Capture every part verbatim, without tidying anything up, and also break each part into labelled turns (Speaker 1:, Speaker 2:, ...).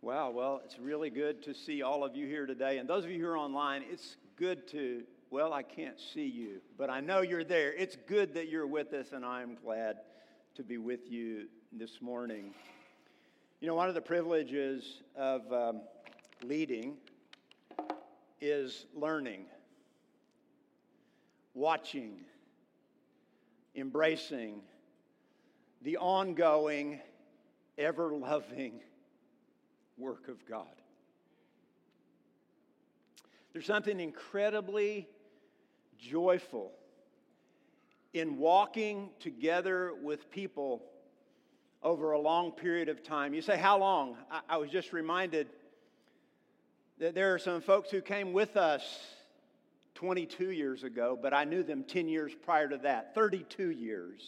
Speaker 1: Wow, well, it's really good to see all of you here today. And those of you who are online, it's good to, well, I can't see you, but I know you're there. It's good that you're with us, and I'm glad to be with you this morning. You know, one of the privileges of um, leading is learning, watching, embracing the ongoing, ever-loving work of God. There's something incredibly joyful in walking together with people over a long period of time. You say, how long? I, I was just reminded that there are some folks who came with us twenty-two years ago, but I knew them ten years prior to that, thirty-two years.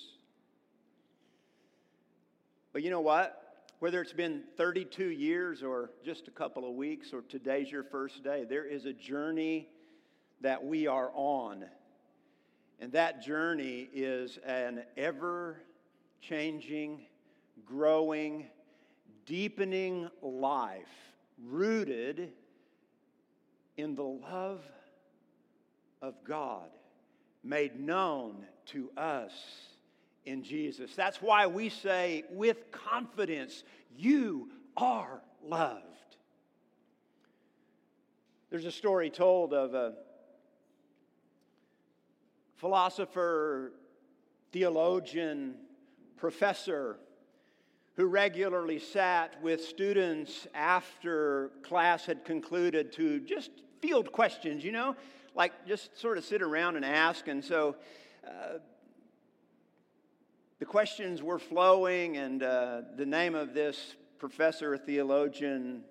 Speaker 1: But you know what? Whether it's been thirty-two years or just a couple of weeks or today's your first day, there is a journey that we are on. And that journey is an ever-changing, growing, deepening life rooted in the love of God made known to us in Jesus. That's why we say with confidence, you are loved. There's a story told of a philosopher, theologian, professor who regularly sat with students after class had concluded to just field questions, you know, like just sort of sit around and ask. And so uh, the questions were flowing, and uh, the name of this professor, theologian,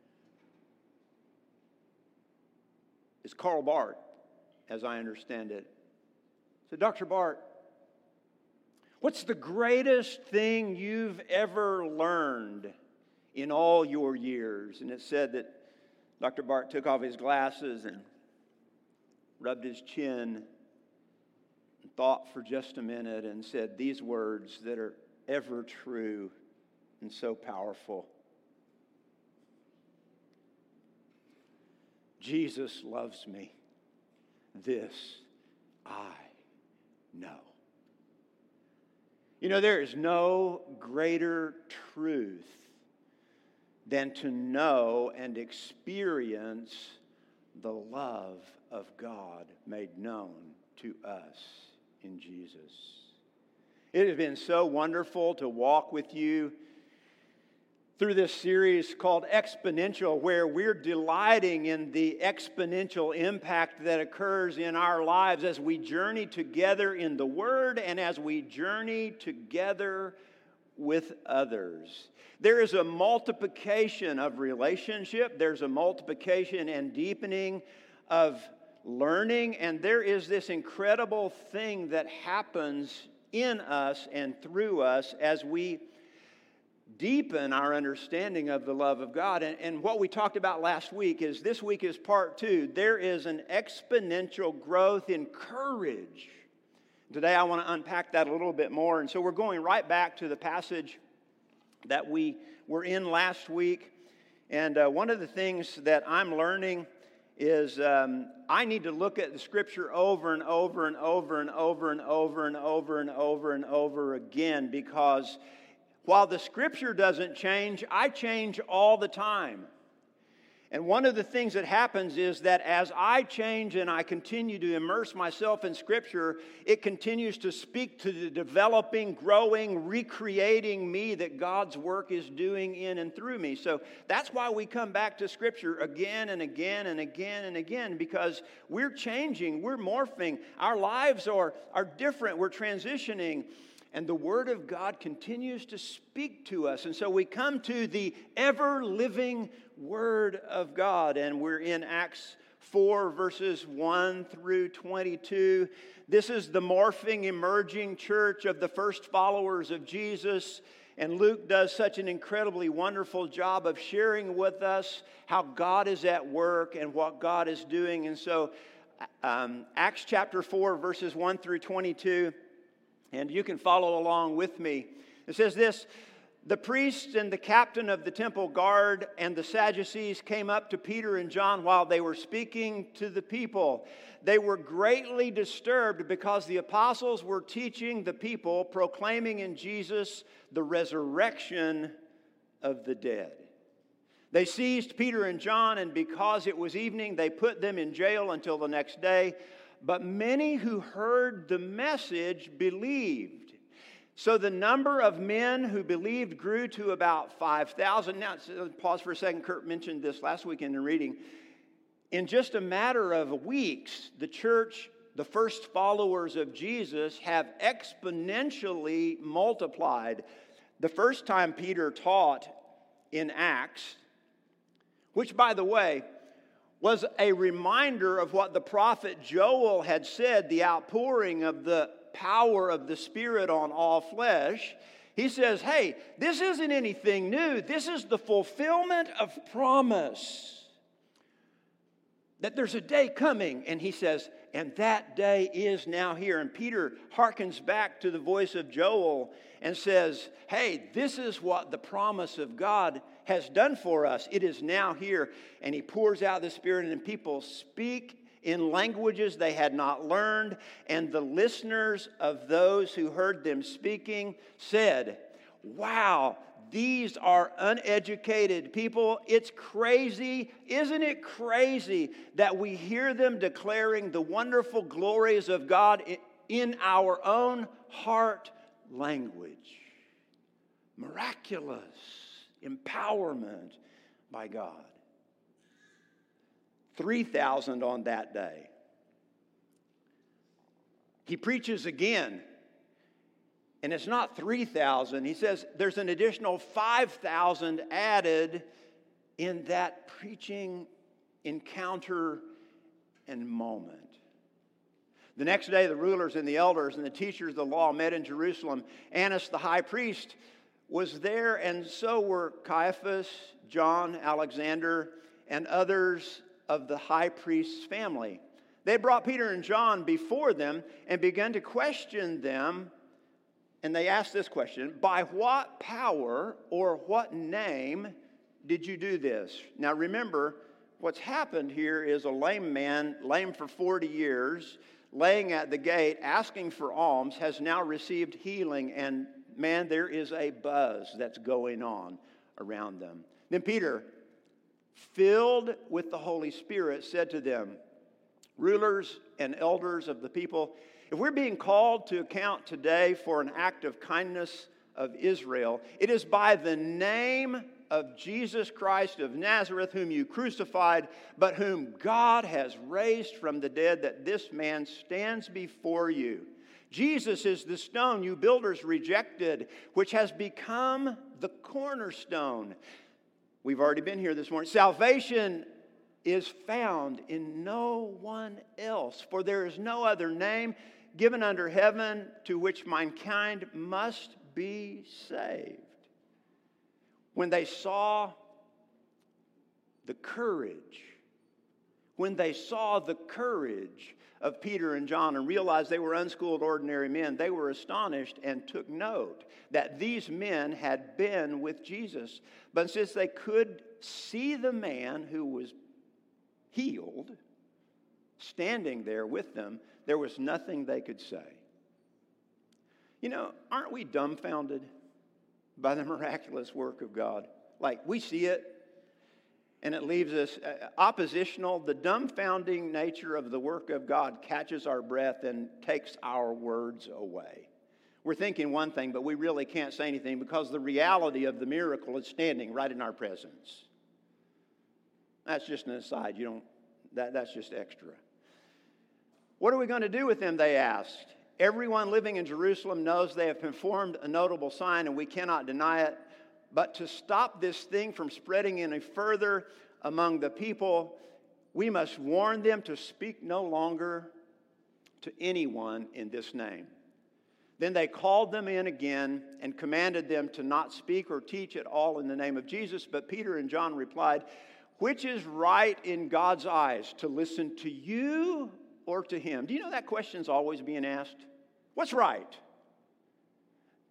Speaker 1: is Karl Barth, as I understand it. So, Doctor Barth, what's the greatest thing you've ever learned in all your years? And it said that Doctor Barth took off his glasses and rubbed his chin, thought for just a minute, and said these words that are ever true and so powerful. Jesus loves me. This I know. You know, there is no greater truth than to know and experience the love of God made known to us in Jesus. It has been so wonderful to walk with you through this series called Exponential, where we're delighting in the exponential impact that occurs in our lives as we journey together in the Word and as we journey together with others. There is a multiplication of relationship, there's a multiplication and deepening of learning, and there is this incredible thing that happens in us and through us as we deepen our understanding of the love of God. And, and what we talked about last week is, this week is part two. There is an exponential growth in courage. Today I want to unpack that a little bit more. And so we're going right back to the passage that we were in last week. And uh, one of the things that I'm learning is um, I need to look at the Scripture over and over and over and over and over and over and over and over again, because while the Scripture doesn't change, I change all the time. And one of the things that happens is that as I change and I continue to immerse myself in Scripture, it continues to speak to the developing, growing, recreating me that God's work is doing in and through me. So that's why we come back to Scripture again and again and again and again, because we're changing, we're morphing, our lives are, are different, we're transitioning. And the Word of God continues to speak to us. And so we come to the ever-living Word of God. And we're in Acts four, verses one through twenty-two. This is the morphing, emerging church of the first followers of Jesus. And Luke does such an incredibly wonderful job of sharing with us how God is at work and what God is doing. And so um, Acts chapter four, verses one through twenty-two. And you can follow along with me. It says this: The priests and the captain of the temple guard and the Sadducees came up to Peter and John while they were speaking to the people. They were greatly disturbed because the apostles were teaching the people, proclaiming in Jesus the resurrection of the dead. They seized Peter and John, and because it was evening, they put them in jail until the next day. But many who heard the message believed. So the number of men who believed grew to about five thousand. Now, pause for a second. Kurt mentioned this last week in the reading. In just a matter of weeks, the church, the first followers of Jesus, have exponentially multiplied. The first time Peter taught in Acts, which, by the way, was a reminder of what the prophet Joel had said, the outpouring of the power of the Spirit on all flesh. He says, hey, this isn't anything new. This is the fulfillment of promise. That there's a day coming, and he says, and that day is now here. And Peter hearkens back to the voice of Joel and says, hey, this is what the promise of God has done for us. It is now here. And he pours out the Spirit, and people speak in languages they had not learned, and the listeners of those who heard them speaking said, wow, these are uneducated people. It's crazy. Isn't it crazy that we hear them declaring the wonderful glories of God in our own heart language? Miraculous empowerment by God. three thousand on that day. He preaches again, and it's not three thousand. He says there's an additional five thousand added in that preaching encounter and moment. The next day, the rulers and the elders and the teachers of the law met in Jerusalem. Annas the high priest was there, and so were Caiaphas, John, Alexander, and others of the high priest's family. They brought Peter and John before them and began to question them. And they asked this question, by what power or what name did you do this? Now remember, what's happened here is a lame man, lame for forty years, laying at the gate, asking for alms, has now received healing. And man, there is a buzz that's going on around them. Then Peter, filled with the Holy Spirit, said to them, rulers and elders of the people, if we're being called to account today for an act of kindness of Israel, it is by the name of Jesus Christ of Nazareth, whom you crucified, but whom God has raised from the dead, that this man stands before you. Jesus is the stone you builders rejected, which has become the cornerstone. We've already been here this morning. Salvation is found in no one else, for there is no other name given under heaven to which mankind must be saved. When they saw the courage, when they saw the courage of Peter and John and realized they were unschooled, ordinary men, they were astonished and took note that these men had been with Jesus. But since they could see the man who was healed standing there with them, there was nothing they could say. You know, aren't we dumbfounded by the miraculous work of God? Like, we see it, and it leaves us oppositional. The dumbfounding nature of the work of God catches our breath and takes our words away. We're thinking one thing, but we really can't say anything because the reality of the miracle is standing right in our presence. That's just an aside. You don't, that, that's just extra. What are we going to do with them, they asked. Everyone living in Jerusalem knows they have performed a notable sign, and we cannot deny it. But to stop this thing from spreading any further among the people, we must warn them to speak no longer to anyone in this name. Then they called them in again and commanded them to not speak or teach at all in the name of Jesus. But Peter and John replied, which is right in God's eyes, to listen to you or to him? Do you know that question's always being asked? What's right?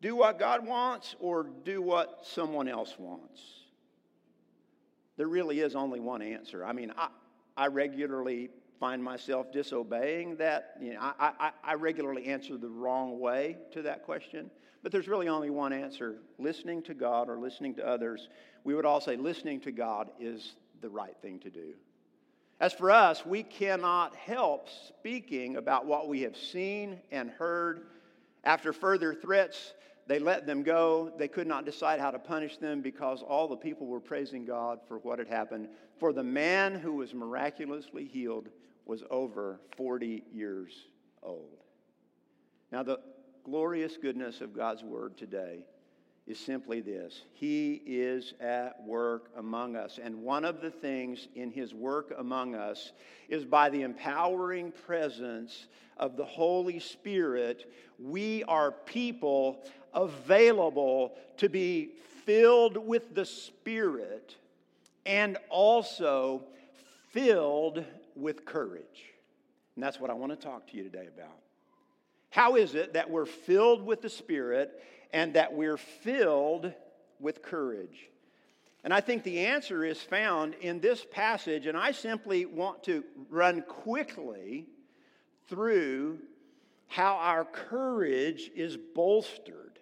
Speaker 1: Do what God wants or do what someone else wants? There really is only one answer. I mean, I, I regularly find myself disobeying that. You know, I, I, I regularly answer the wrong way to that question. But there's really only one answer. Listening to God or listening to others, we would all say listening to God is the right thing to do. As for us, we cannot help speaking about what we have seen and heard. After further threats, they let them go. They could not decide how to punish them because all the people were praising God for what had happened. For the man who was miraculously healed was over forty years old. Now, the glorious goodness of God's word today is simply this. He is at work among us. And one of the things in his work among us is by the empowering presence of the Holy Spirit, we are people available to be filled with the Spirit and also filled with courage. And that's what I want to talk to you today about. How is it that we're filled with the Spirit and that we're filled with courage? And I think the answer is found in this passage, and I simply want to run quickly through how our courage is bolstered.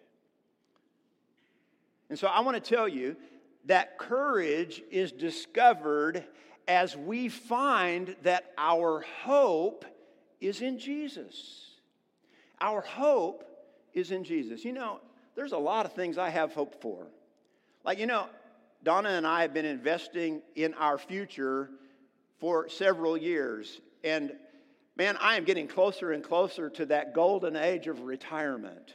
Speaker 1: And so I want to tell you that courage is discovered as we find that our hope is in Jesus. Our hope is in Jesus. You know, there's a lot of things I have hope for. Like, you know, Donna and I have been investing in our future for several years. And, man, I am getting closer and closer to that golden age of retirement.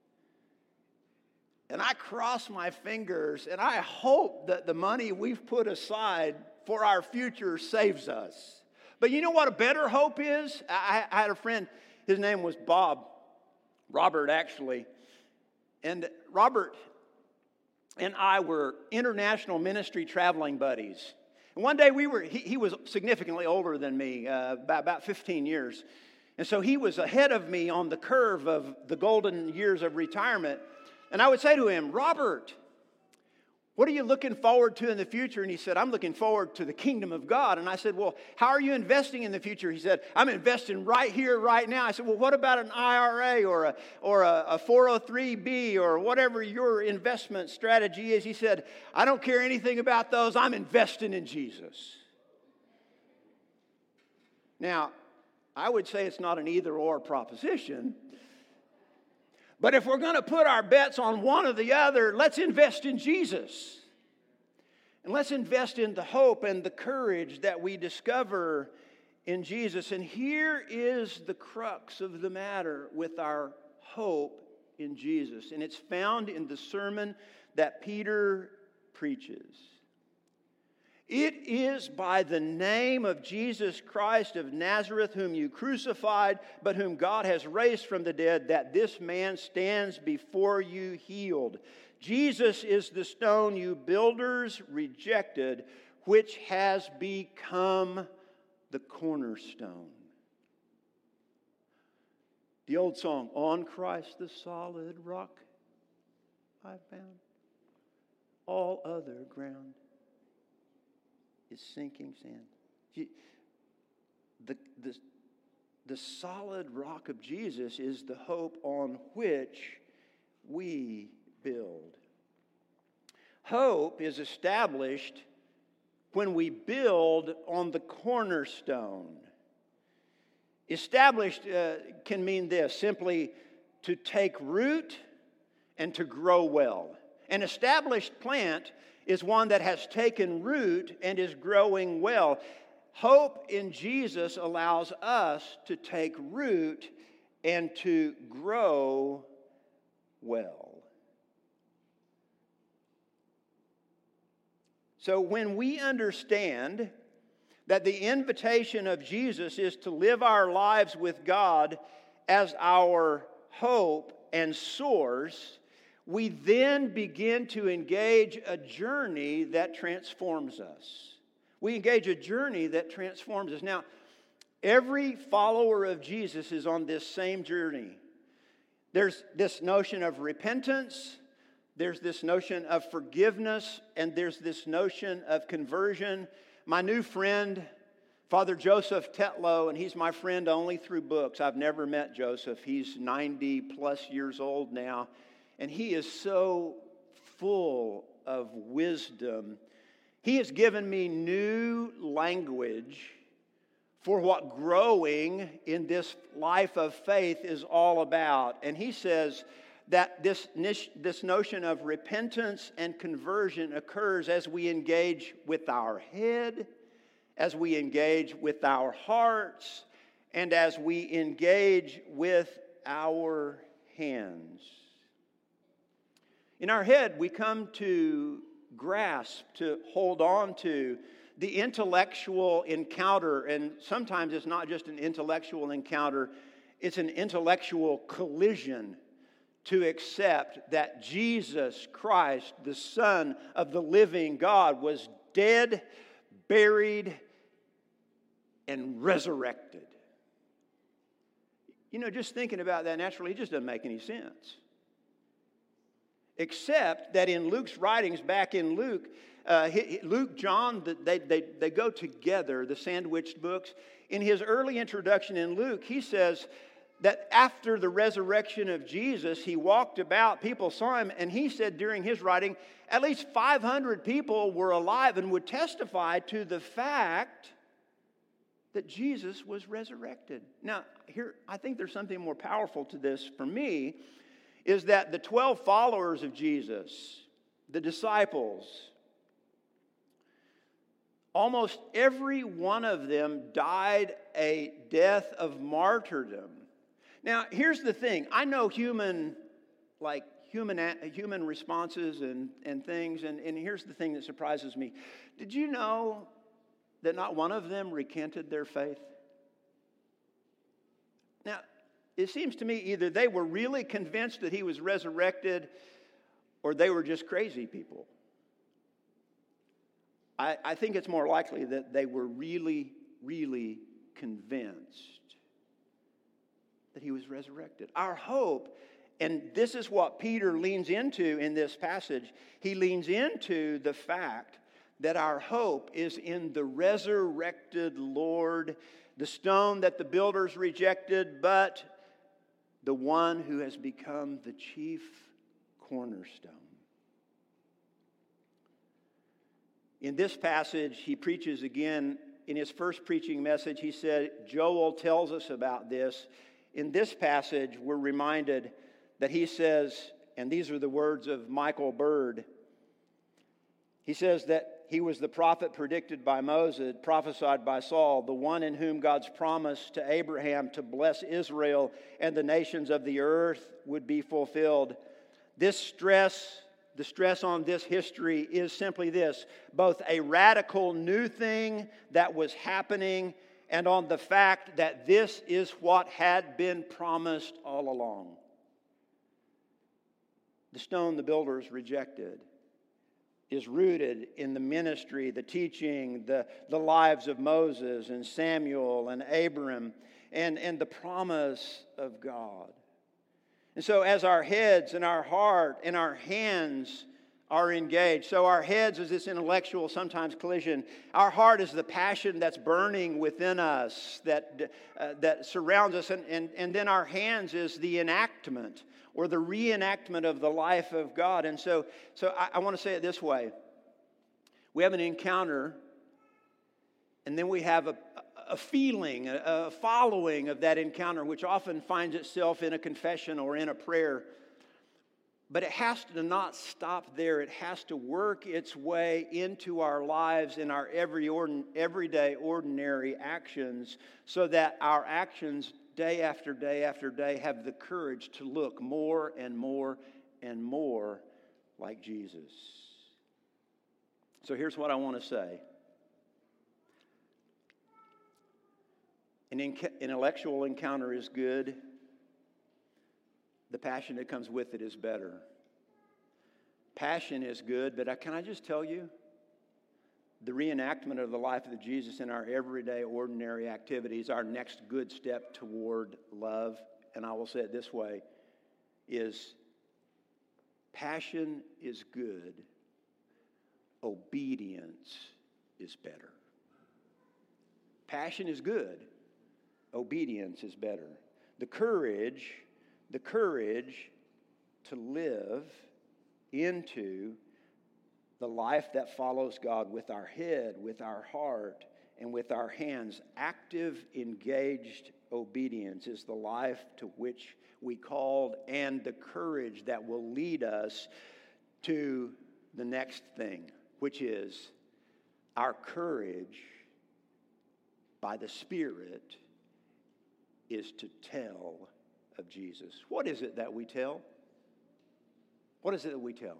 Speaker 1: And I cross my fingers, and I hope that the money we've put aside for our future saves us. But you know what a better hope is? I, I had a friend, his name was Bob, Robert actually. And Robert and I were international ministry traveling buddies. And one day we were, he, he was significantly older than me, uh, about, about fifteen years. And so he was ahead of me on the curve of the golden years of retirement. And I would say to him, Robert, what are you looking forward to in the future? And he said, I'm looking forward to the kingdom of God. And I said, well, how are you investing in the future? He said, I'm investing right here, right now. I said, well, what about an I R A or a, or a, a four oh three B or whatever your investment strategy is? He said, I don't care anything about those. I'm investing in Jesus. Now, I would say it's not an either-or proposition. But if we're going to put our bets on one or the other, let's invest in Jesus. And let's invest in the hope and the courage that we discover in Jesus. And here is the crux of the matter with our hope in Jesus. And it's found in the sermon that Peter preaches. It is by the name of Jesus Christ of Nazareth, whom you crucified, but whom God has raised from the dead, that this man stands before you healed. Jesus is the stone you builders rejected, which has become the cornerstone. The old song, On Christ the solid rock I found, all other ground is sinking sand. The, the, the solid rock of Jesus is the hope on which we build. Hope is established when we build on the cornerstone. Established uh, can mean this, simply to take root and to grow well. An established plant is one that has taken root and is growing well. Hope in Jesus allows us to take root and to grow well. So when we understand that the invitation of Jesus is to live our lives with God as our hope and source, we then begin to engage a journey that transforms us. We engage a journey that transforms us. Now, every follower of Jesus is on this same journey. There's this notion of repentance, there's this notion of forgiveness, and there's this notion of conversion. My new friend, Father Joseph Tetlow, and he's my friend only through books. I've never met Joseph. He's ninety plus years old now, and he is so full of wisdom. He has given me new language for what growing in this life of faith is all about. And he says that this, this notion of repentance and conversion occurs as we engage with our head, as we engage with our hearts, and as we engage with our hands. In our head, we come to grasp, to hold on to the intellectual encounter, and sometimes it's not just an intellectual encounter, it's an intellectual collision to accept that Jesus Christ, the Son of the living God, was dead, buried, and resurrected. You know, just thinking about that naturally, it just doesn't make any sense. Except that in Luke's writings, back in Luke, uh, Luke, John, they, they, they go together, the sandwiched books. In his early introduction in Luke, he says that after the resurrection of Jesus, he walked about, people saw him, and he said during his writing, at least five hundred people were alive and would testify to the fact that Jesus was resurrected. Now, here, I think there's something more powerful to this for me, is that the twelve followers of Jesus, the disciples, almost every one of them died a death of martyrdom. Now, here's the thing. I know human, like human human responses and, and things, and, and here's the thing that surprises me. Did you know that not one of them recanted their faith? Now, it seems to me either they were really convinced that he was resurrected or they were just crazy people. I, I think it's more likely that they were really, really convinced that he was resurrected. Our hope, and this is what Peter leans into in this passage, he leans into the fact that our hope is in the resurrected Lord, the stone that the builders rejected, but the one who has become the chief cornerstone. In this passage, he preaches again. In his first preaching message, he said, Joel tells us about this. In this passage, we're reminded that he says, and these are the words of Michael Bird, he says that he was the prophet predicted by Moses, prophesied by Saul, the one in whom God's promise to Abraham to bless Israel and the nations of the earth would be fulfilled. This stress, the stress on this history is simply this, both a radical new thing that was happening and on the fact that this is what had been promised all along. The stone the builders rejected is rooted in the ministry, the teaching, the, the lives of Moses and Samuel and Abram and, and the promise of God. And so as our heads and our heart and our hands are engaged, so our heads is this intellectual, sometimes collision. Our heart is the passion that's burning within us, that, uh, that surrounds us, and, and, and then our hands is the enactment or the reenactment of the life of God. And so, so I, I want to say it this way. We have an encounter, and then we have a, a feeling, a, a following of that encounter, which often finds itself in a confession or in a prayer. But it has to not stop there. It has to work its way into our lives in our every ordin- everyday, ordinary actions, so that our actions day after day after day have the courage to look more and more and more like Jesus. So here's what I want to say. An intellectual encounter is good. The passion that comes with it is better. Passion is good, but can I just tell you, the reenactment of the life of Jesus in our everyday, ordinary activities, our next good step toward love. And I will say it this way, is passion is good, obedience is better. Passion is good, obedience is better. The courage, the courage to live into the life that follows God with our head, with our heart, and with our hands. Active, engaged obedience is the life to which we called, and the courage that will lead us to the next thing, which is our courage by the Spirit is to tell of Jesus. What is it that we tell? What is it that we tell?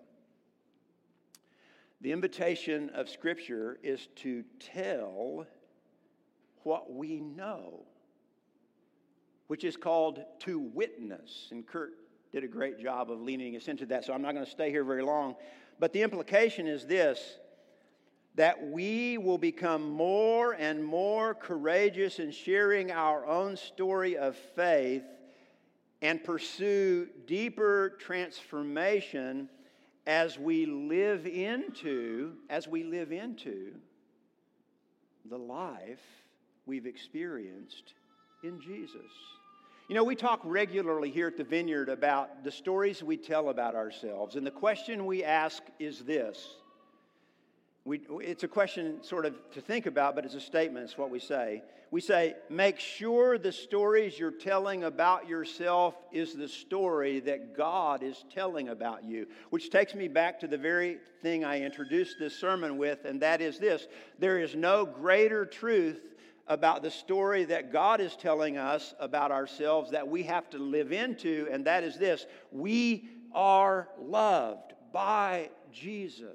Speaker 1: The invitation of Scripture is to tell what we know, which is called to witness. And Kurt did a great job of leading us into that, so I'm not going to stay here very long. But the implication is this, that we will become more and more courageous in sharing our own story of faith and pursue deeper transformation as we live into, as we live into the life we've experienced in Jesus. You know, we talk regularly here at the Vineyard about the stories we tell about ourselves, and the question we ask is this. We, it's a question sort of to think about, but it's a statement. It's what we say. We say, make sure the stories you're telling about yourself is the story that God is telling about you. Which takes me back to the very thing I introduced this sermon with, and that is this. There is no greater truth about the story that God is telling us about ourselves that we have to live into, and that is this. We are loved by Jesus.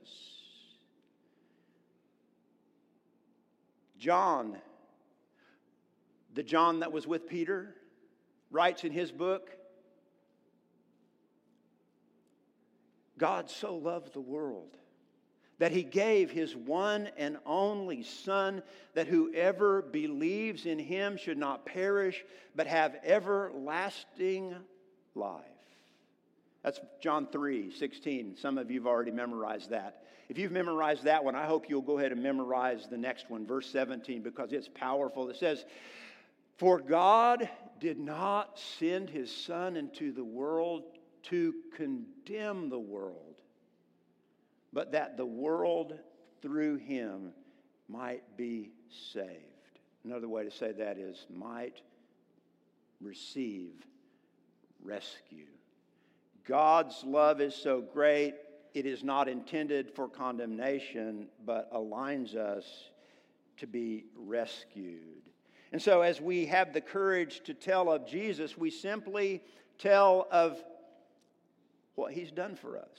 Speaker 1: John, the John that was with Peter, writes in his book, God so loved the world that he gave his one and only Son, that whoever believes in him should not perish, but have everlasting life. That's John three sixteen. Some of you have already memorized that. If you've memorized that one, I hope you'll go ahead and memorize the next one, verse seventeen, because it's powerful. It says, for God did not send his Son into the world to condemn the world, but that the world through him might be saved. Another way to say that is might receive rescue. God's love is so great, it is not intended for condemnation, but aligns us to be rescued. And so as we have the courage to tell of Jesus, we simply tell of what he's done for us.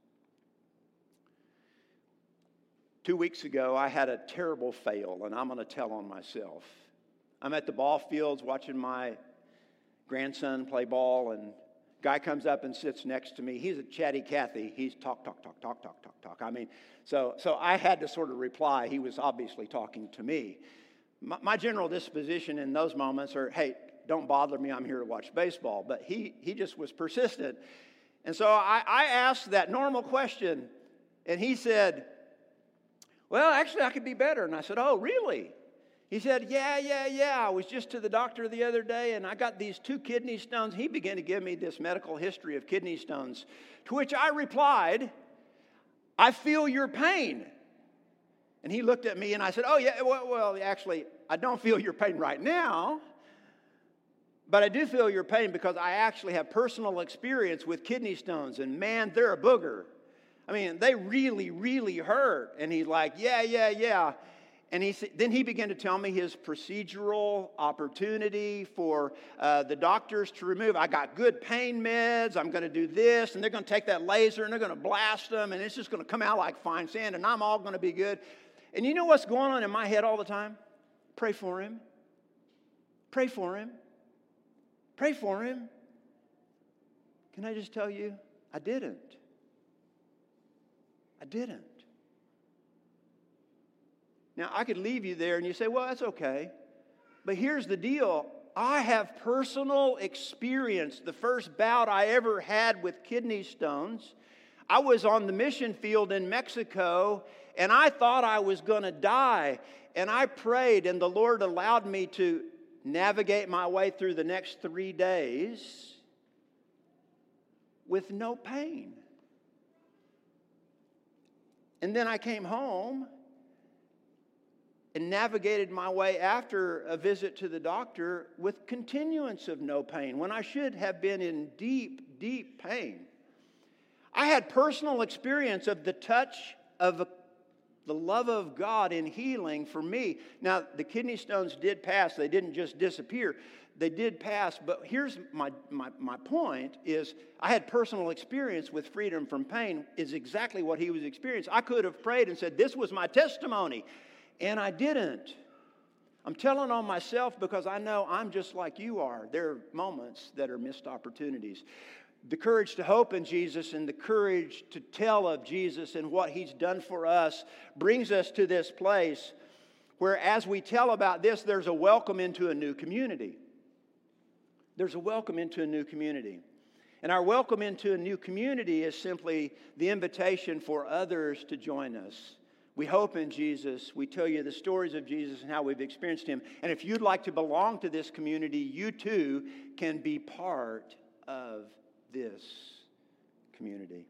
Speaker 1: Two weeks ago, I had a terrible fail, and I'm going to tell on myself. I'm at the ball fields watching my grandson play ball, and guy comes up and sits next to me. He's a chatty Cathy. He's talk, talk, talk, talk, talk, talk, talk. I mean, so so I had to sort of reply. He was obviously talking to me. My, my general disposition in those moments are, hey, don't bother me. I'm here to watch baseball. But he he just was persistent. And so I, I asked that normal question, and he said, well, actually, I could be better. And I said, oh, really? He said, yeah, yeah, yeah. I was just to the doctor the other day, and I got these two kidney stones. He began to give me this medical history of kidney stones, to which I replied, I feel your pain. And he looked at me, and I said, oh, yeah, well, well, actually, I don't feel your pain right now, but I do feel your pain because I actually have personal experience with kidney stones, and man, they're a booger. I mean, they really, really hurt. And he's like, yeah, yeah, yeah. And he then he began to tell me his procedural opportunity for uh, the doctors to remove. I got good pain meds. I'm going to do this, and they're going to take that laser, and they're going to blast them, and it's just going to come out like fine sand, and I'm all going to be good. And you know what's going on in my head all the time? Pray for him. Pray for him. Pray for him. Can I just tell you, I didn't. I didn't. Now, I could leave you there and you say, well, that's okay. But here's the deal. I have personal experience. The first bout I ever had with kidney stones, I was on the mission field in Mexico, and I thought I was going to die. And I prayed, and the Lord allowed me to navigate my way through the next three days with no pain. And then I came home and navigated my way after a visit to the doctor with continuance of no pain, when I should have been in deep, deep pain. I had personal experience of the touch of the love of God in healing for me. Now, the kidney stones did pass. They didn't just disappear. They did pass. But here's my, my, my point is I had personal experience with freedom from pain is exactly what he was experiencing. I could have prayed and said, this was my testimony. And I didn't. I'm telling on myself because I know I'm just like you are. There are moments that are missed opportunities. The courage to hope in Jesus and the courage to tell of Jesus and what He's done for us brings us to this place where as we tell about this, there's a welcome into a new community. There's a welcome into a new community. And our welcome into a new community is simply the invitation for others to join us. We hope in Jesus. We tell you the stories of Jesus and how we've experienced Him. And if you'd like to belong to this community, you too can be part of this community.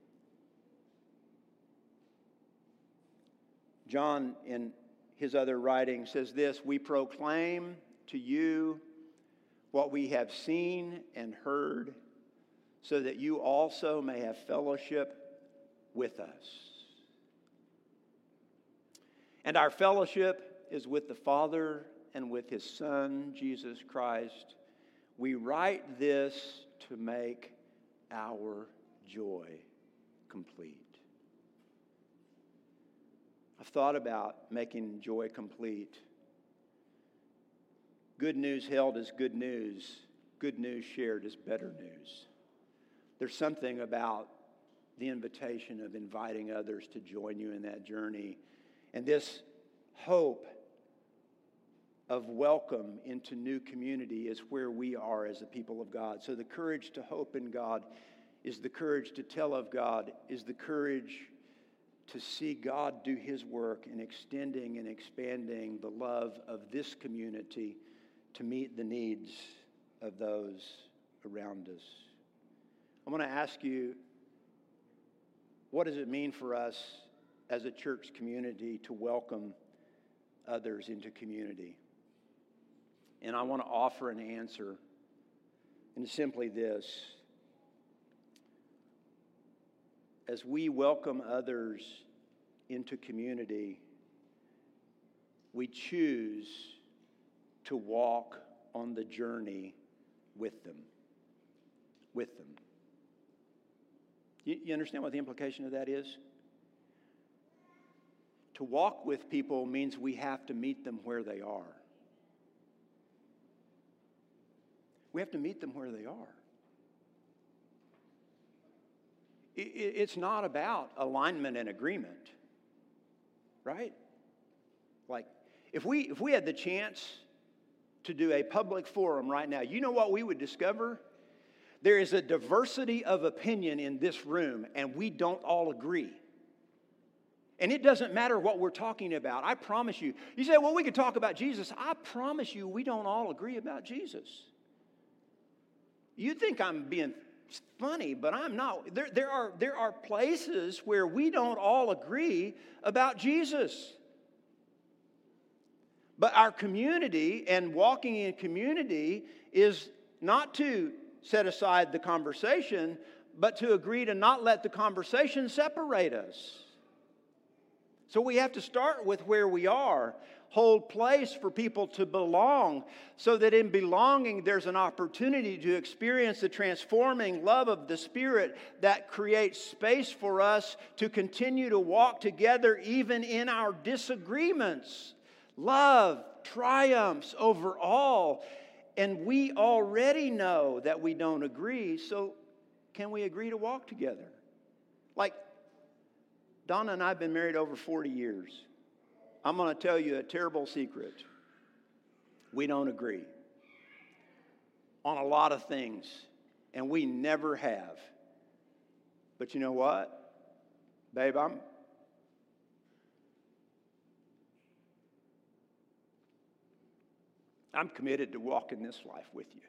Speaker 1: John, in his other writing, says this: we proclaim to you what we have seen and heard, so that you also may have fellowship with us. And our fellowship is with the Father and with His Son, Jesus Christ. We write this to make our joy complete. I've thought about making joy complete. Good news held is good news. Good news shared is better news. There's something about the invitation of inviting others to join you in that journey. And this hope of welcome into new community is where we are as a people of God. So the courage to hope in God is the courage to tell of God, is the courage to see God do His work in extending and expanding the love of this community to meet the needs of those around us. I want to ask you, what does it mean for us as a church community to welcome others into community? And I want to offer an answer, and it's simply this. As we welcome others into community, we choose to walk on the journey with them. With them. You, you understand what the implication of that is? To walk with people means we have to meet them where they are. We have to meet them where they are. It's not about alignment and agreement, right? Like, if we if we had the chance to do a public forum right now, you know what we would discover? There is a diversity of opinion in this room, and we don't all agree. And it doesn't matter what we're talking about. I promise you. You say, well, we could talk about Jesus. I promise you we don't all agree about Jesus. You think I'm being funny, but I'm not. There, there are, there are places where we don't all agree about Jesus. But our community and walking in community is not to set aside the conversation, but to agree to not let the conversation separate us. So we have to start with where we are, hold place for people to belong, so that in belonging there's an opportunity to experience the transforming love of the Spirit that creates space for us to continue to walk together even in our disagreements. Love triumphs over all, and we already know that we don't agree, so can we agree to walk together? Like, Donna and I have been married over forty years. I'm going to tell you a terrible secret. We don't agree. on a lot of things, and we never have. But you know what? Babe, I'm I'm committed to walking this life with you.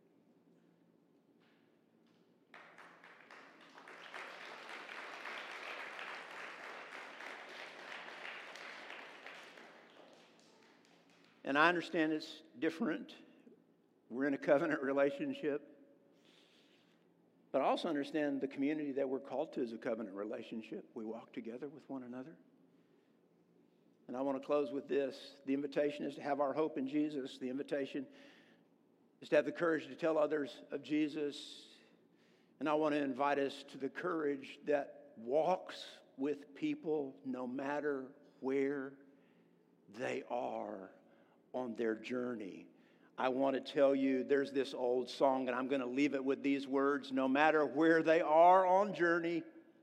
Speaker 1: And I understand it's different. We're in a covenant relationship. But I also understand the community that we're called to is a covenant relationship. We walk together with one another. And I want to close with this. The invitation is to have our hope in Jesus. The invitation is to have the courage to tell others of Jesus. And I want to invite us to the courage that walks with people no matter where they are on their journey. I want to tell you, there's this old song, and I'm going to leave it with these words: no matter where they are on journey.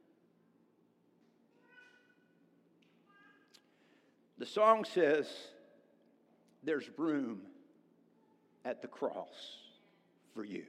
Speaker 1: The song says, there's room at the cross for you.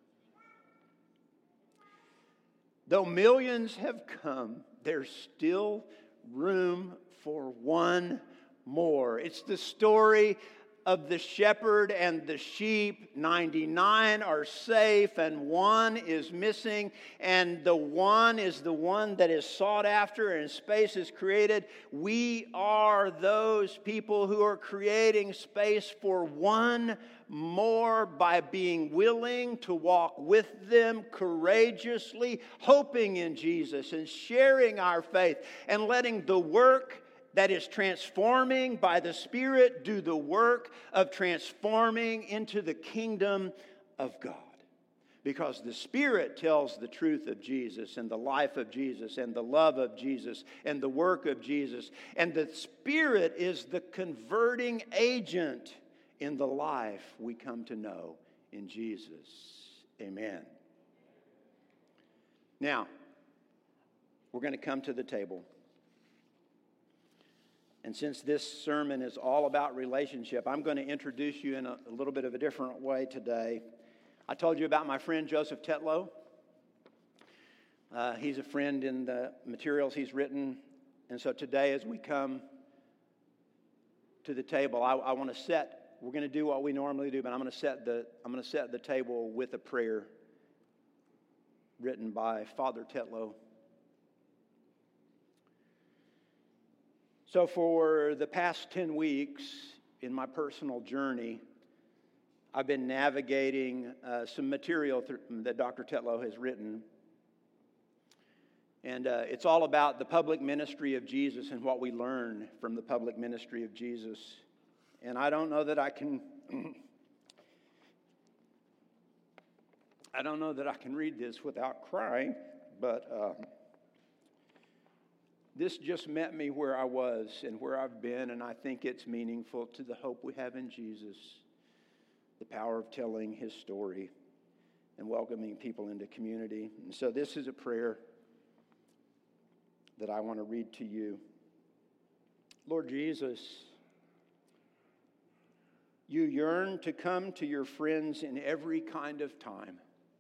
Speaker 1: Though millions have come, there's still room for one more. It's the story of the shepherd and the sheep. ninety-nine are safe and one is missing, and the one is the one that is sought after and space is created. We are those people who are creating space for one more by being willing to walk with them courageously, hoping in Jesus and sharing our faith and letting the work that is transforming by the Spirit do the work of transforming into the kingdom of God. Because the Spirit tells the truth of Jesus and the life of Jesus and the love of Jesus and the work of Jesus. And the Spirit is the converting agent in the life we come to know in Jesus. Amen. Now, we're going to come to the table. And since this sermon is all about relationship, I'm going to introduce you in a, a little bit of a different way today. I told you about my friend Joseph Tetlow. Uh, he's a friend in the materials he's written. And so today, as we come to the table, I, I want to set, we're going to do what we normally do, but I'm going to set the, I'm going to set the table with a prayer written by Father Tetlow. So for the past ten weeks in my personal journey, I've been navigating uh, some material th- that Doctor Tetlow has written. And uh, it's all about the public ministry of Jesus and what we learn from the public ministry of Jesus. And I don't know that I can... I don't know that I can read this without crying, but... Uh, This just met me where I was and where I've been, and I think it's meaningful to the hope we have in Jesus, the power of telling his story and welcoming people into community. And so this is a prayer that I want to read to you. Lord Jesus, you yearn to come to your friends in every kind of time.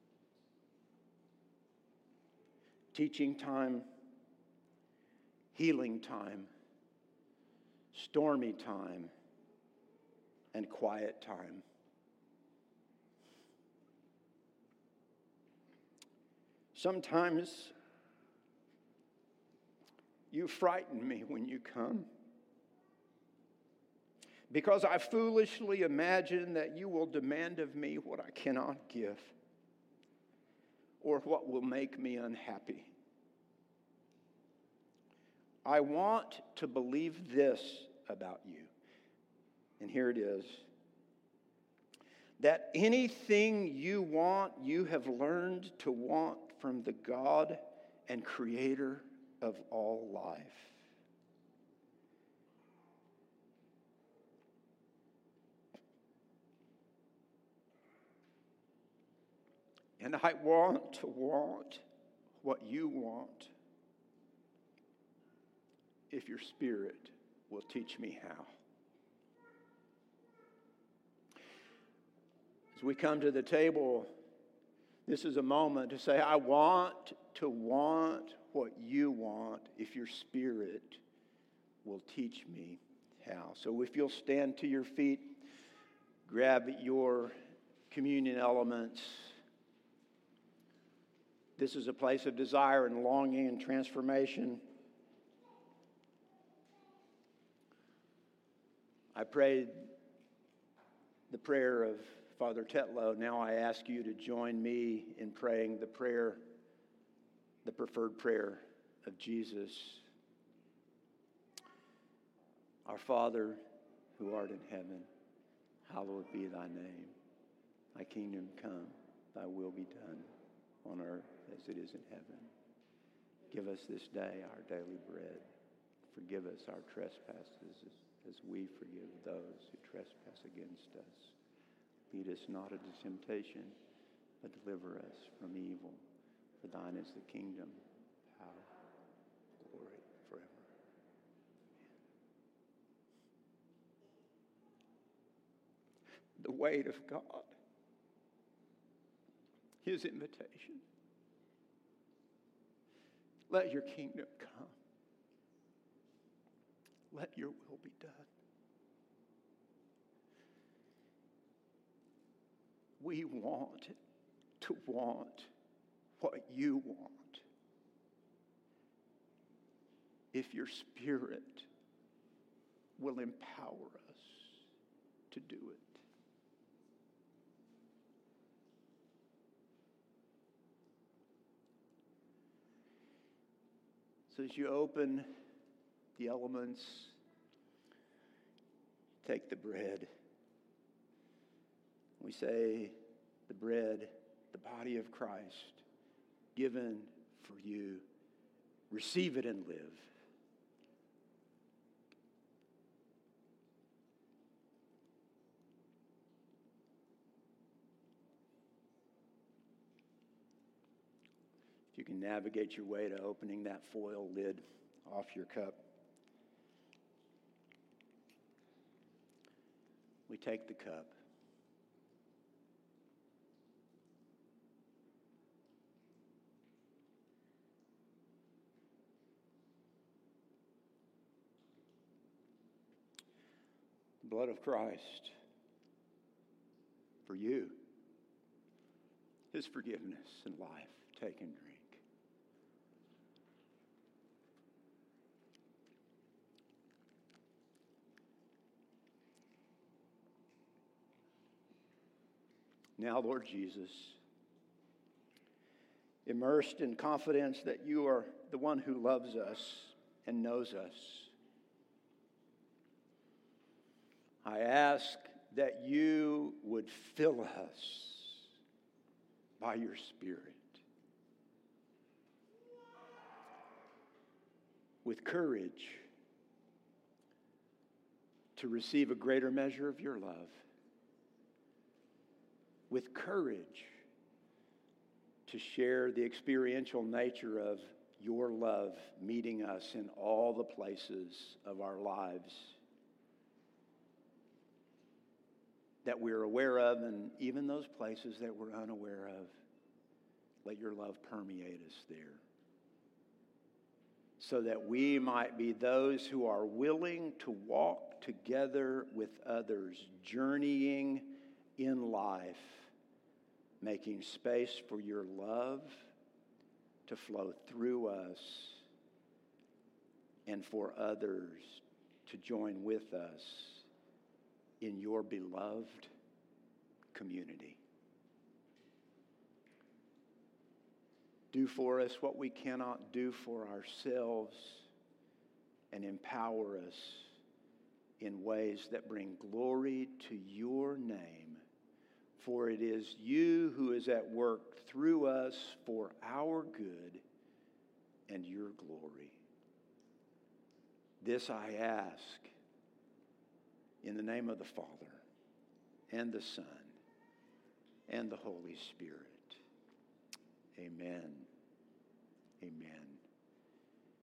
Speaker 1: Teaching time, healing time, stormy time, and quiet time. Sometimes you frighten me when you come, because I foolishly imagine that you will demand of me what I cannot give, or what will make me unhappy. I want to believe this about you, and here it is, that anything you want, you have learned to want from the God and Creator of all life. And I want to want what you want, if your Spirit will teach me how. As we come to the table, this is a moment to say, I want to want what you want if your Spirit will teach me how. So if you'll stand to your feet, grab your communion elements. This is a place of desire and longing and transformation. I prayed the prayer of Father Tetlow. Now I ask you to join me in praying the prayer, the preferred prayer of Jesus. Our Father, who art in heaven, hallowed be thy name. Thy kingdom come, thy will be done on earth as it is in heaven. Give us this day our daily bread. Forgive us our trespasses as, as we forgive those who trespass against us. Lead us not into temptation, but deliver us from evil. For thine is the kingdom, power, glory forever. The weight of God, his invitation. Let your kingdom come. Let your will be done. We want to want what you want. If your Spirit will empower us to do it. So as you open the elements, take the bread. We say, the bread, the body of Christ, given for you. Receive it and live. If you can navigate your way to opening that foil lid off your cup. We take the cup. The blood of Christ for you. His forgiveness and life. Take and drink. Now, Lord Jesus, immersed in confidence that you are the one who loves us and knows us, I ask that you would fill us by your Spirit with courage to receive a greater measure of your love, with courage to share the experiential nature of your love meeting us in all the places of our lives that we're aware of, and even those places that we're unaware of. Let your love permeate us there, so that we might be those who are willing to walk together with others, journeying in life, making space for your love to flow through us and for others to join with us in your beloved community. Do for us what we cannot do for ourselves, and empower us in ways that bring glory to your name. For it is you who is at work through us for our good and your glory. This I ask in the name of the Father, and the Son, and the Holy Spirit. Amen. Amen.